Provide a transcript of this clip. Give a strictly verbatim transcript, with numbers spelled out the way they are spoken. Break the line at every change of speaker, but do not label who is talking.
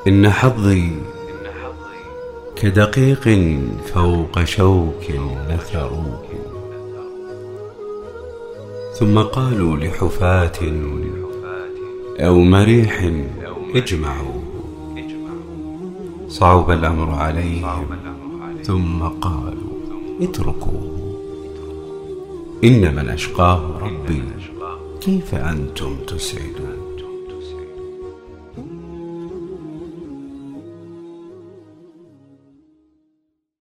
إن حظي كدقيق فوق شوك نثروه، ثم قالوا لحفاة أو مريح اجمعوه. صعب الأمر عليهم ثم قالوا اتركوه. إن من أشقاه ربي كيف أنتم تسعدون.